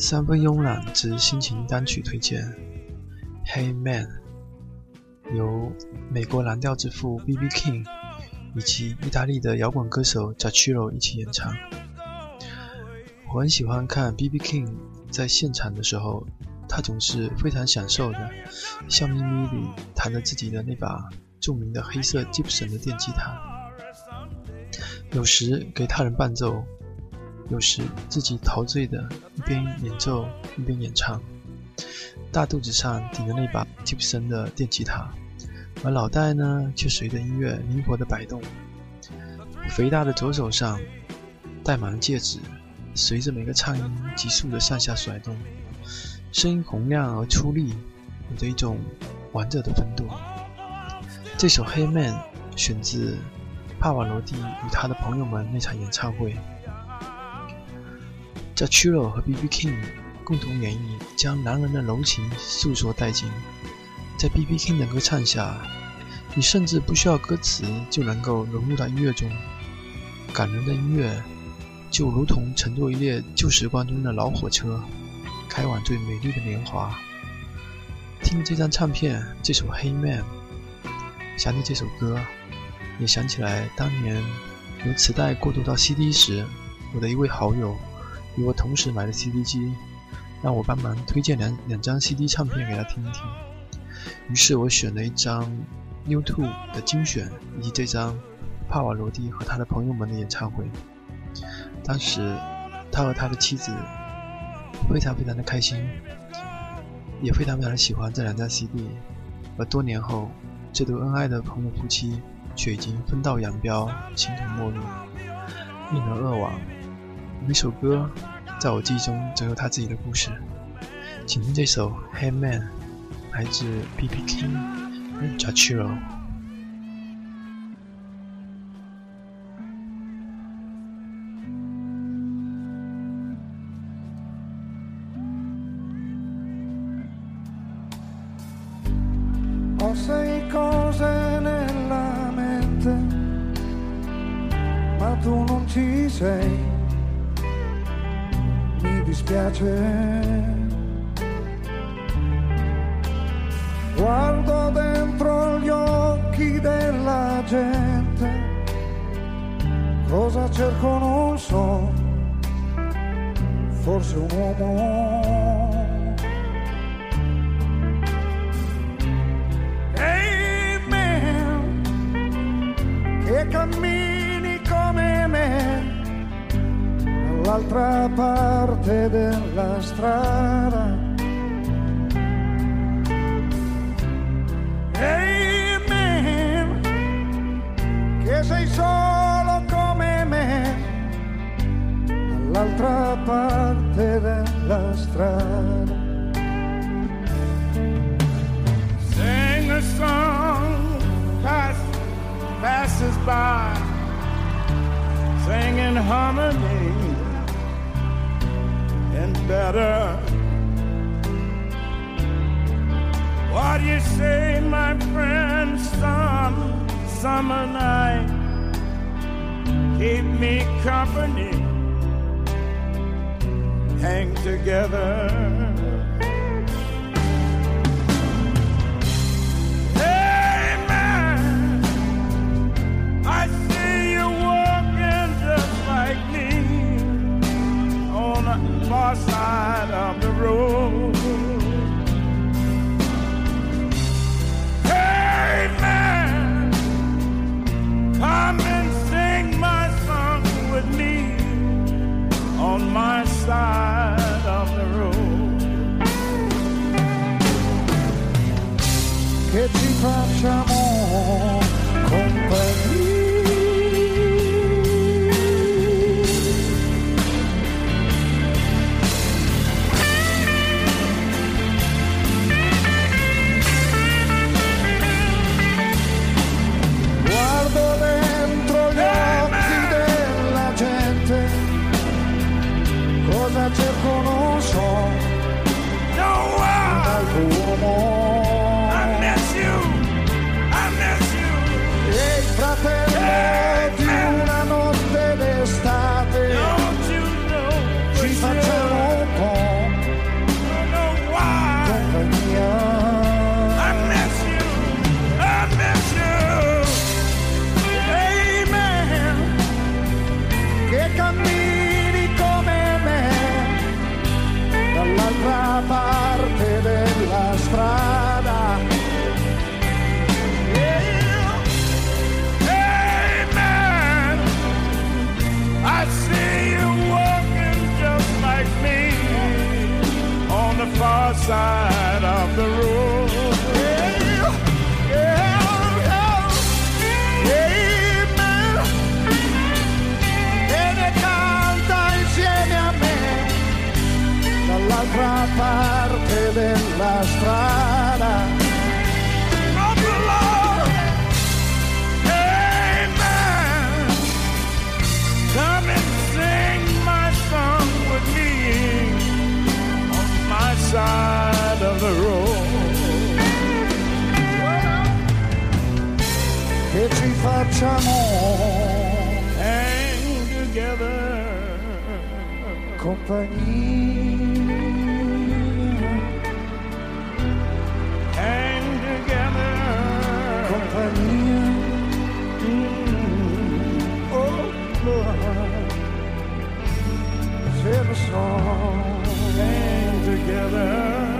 三分慵懒之心情单曲推荐 Hey Man， 由美国蓝调之父 B.B. King 以及意大利的摇滚歌手 Giacchino 一起演唱。我很喜欢看 B.B. King 在现场的时候，他总是非常享受的笑眯眯地弹着自己的那把著名的黑色 Gibson 的电吉他，有时给他人伴奏，有时自己陶醉的一边演奏一边演唱，大肚子上顶着那把 Gibson 的电吉他，而脑袋呢却随着音乐灵活地摆动。肥大的左手上戴满了戒指，随着每个唱音急速地上下甩动，声音洪亮而出力，有着一种玩着的风度。这首 Hey Man 选自帕瓦罗蒂与他的朋友们那场演唱会。Giacchino 和 B.B. King 共同演绎，将男人的柔情诉说殆尽。在 B.B. King 的歌唱下，你甚至不需要歌词就能够融入到音乐中。感人的音乐就如同乘坐一列旧时光中的老火车，开往最美丽的年华。听这张唱片，这首 Hey Man， 想起这首歌，也想起来当年由磁带过渡到 CD 时，我的一位好友与我同时买的 CD 机，让我帮忙推荐两张 CD 唱片给他听一听。于是我选了一张 U2 的精选，以及这张帕瓦罗蒂和他的朋友们的演唱会。当时他和他的妻子非常的开心，也非常的喜欢这两张 CD。 而多年后，这对恩爱的朋友夫妻却已经分道扬镳，形同陌路，因而恶亡。每首歌在我记忆中总有他自己的故事。请听这首 Hey Man， 来自 B.B. King 和 Giacchino。 Ho 6 cose nella mente, ma tu non ci sei, mi dispiace. Guardo dentro gli occhi della gente, cosa cerco non so, forse un uomo. Che cammini come me dall'altra parte della strada. Hey man, che sei solo come me dall'altra parte della strada. Sing a song, passes by, singing harmony and better. What do you say, my friend? Summer night, keep me company, hang together. Far side of the road. Hey man, come and sing my song with me on my side of the road. Che ci facciamo compagnia. Cosa cerco non so, un altro uomo. I miss you, la strada of the Lord. Amen. Come and sing my song with me on my side of the road. Che ci facciamo hang together, compagnia, hang together, compagnia. Oh Lord, sing a song, hang together.